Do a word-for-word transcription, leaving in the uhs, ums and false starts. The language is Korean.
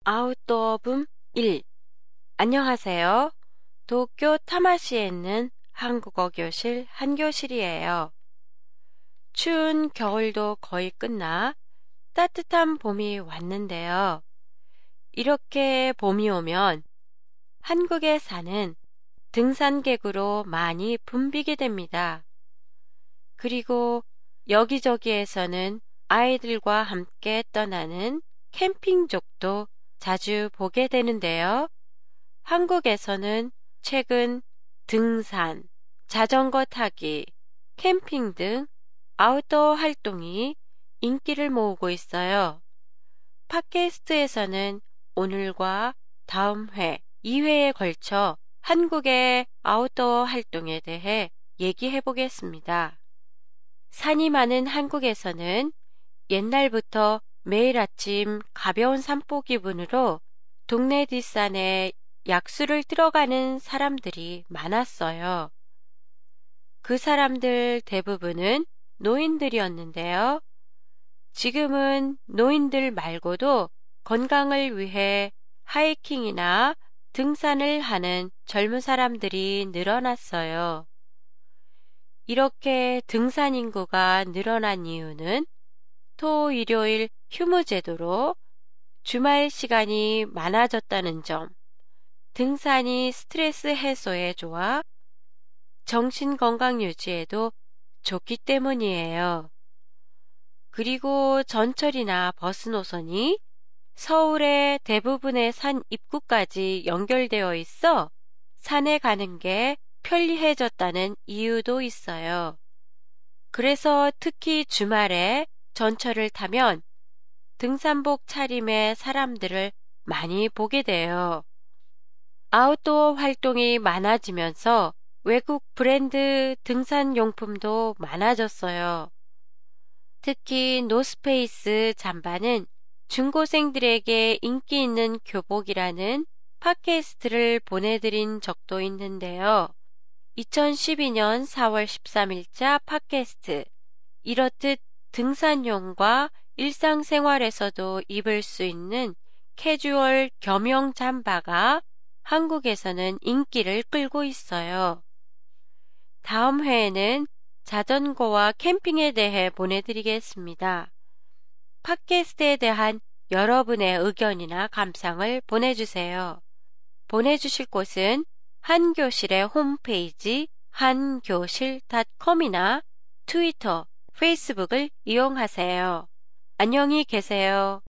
아웃도어 붐 일. 안녕하세요. 도쿄 타마시에 있는 한국어 교실 한교실이에요. 추운 겨울도 거의 끝나 따뜻한 봄이 왔는데요. 이렇게 봄이 오면 한국에 사는 등산객으로 많이 붐비게 됩니다. 그리고 여기저기에서는 아이들과 함께 떠나는 캠핑족도 자주 보게 되는데요. 한국에서는 최근 등산, 자전거 타기, 캠핑 등 아웃도어 활동이 인기를 모으고 있어요. 팟캐스트에서는 오늘과 다음 회, 이 회에 걸쳐 한국의 아웃도어 활동에 대해 얘기해 보겠습니다. 산이 많은 한국에서는 옛날부터 매일 아침 가벼운 산보 기분으로 동네 뒷산에 약수를 들어가는 사람들이 많았어요. 그 사람들 대부분은 노인들이었는데요. 지금은 노인들 말고도 건강을 위해 하이킹이나 등산을 하는 젊은 사람들이 늘어났어요. 이렇게 등산 인구가 늘어난 이유는 토, 일요일 휴무 제도로 주말 시간이 많아졌다는 점, 등산이 스트레스 해소에 좋아 정신 건강 유지에도 좋기 때문이에요. 그리고 전철이나 버스 노선이 서울의 대부분의 산 입구까지 연결되어 있어 산에 가는 게 편리해졌다는 이유도 있어요. 그래서 특히 주말에 전철을 타면 등산복 차림의 사람들을 많이 보게 돼요. 아웃도어 활동이 많아지면서 외국 브랜드 등산 용품도 많아졌어요. 특히 노스페이스 잠바는 중고생들에게 인기 있는 교복이라는 팟캐스트를 보내드린 적도 있는데요. 이천십이 년 사월 십삼일자 팟캐스트. 이렇듯 등산용과 일상생활에서도 입을 수 있는 캐주얼 겸용 잠바가 한국에서는 인기를 끌고 있어요. 다음 회에는 자전거와 캠핑에 대해 보내드리겠습니다. 팟캐스트에 대한 여러분의 의견이나 감상을 보내주세요. 보내주실 곳은 한교실의 홈페이지 한교실 닷컴이나 트위터, 페이스북을 이용하세요. 안녕히 계세요.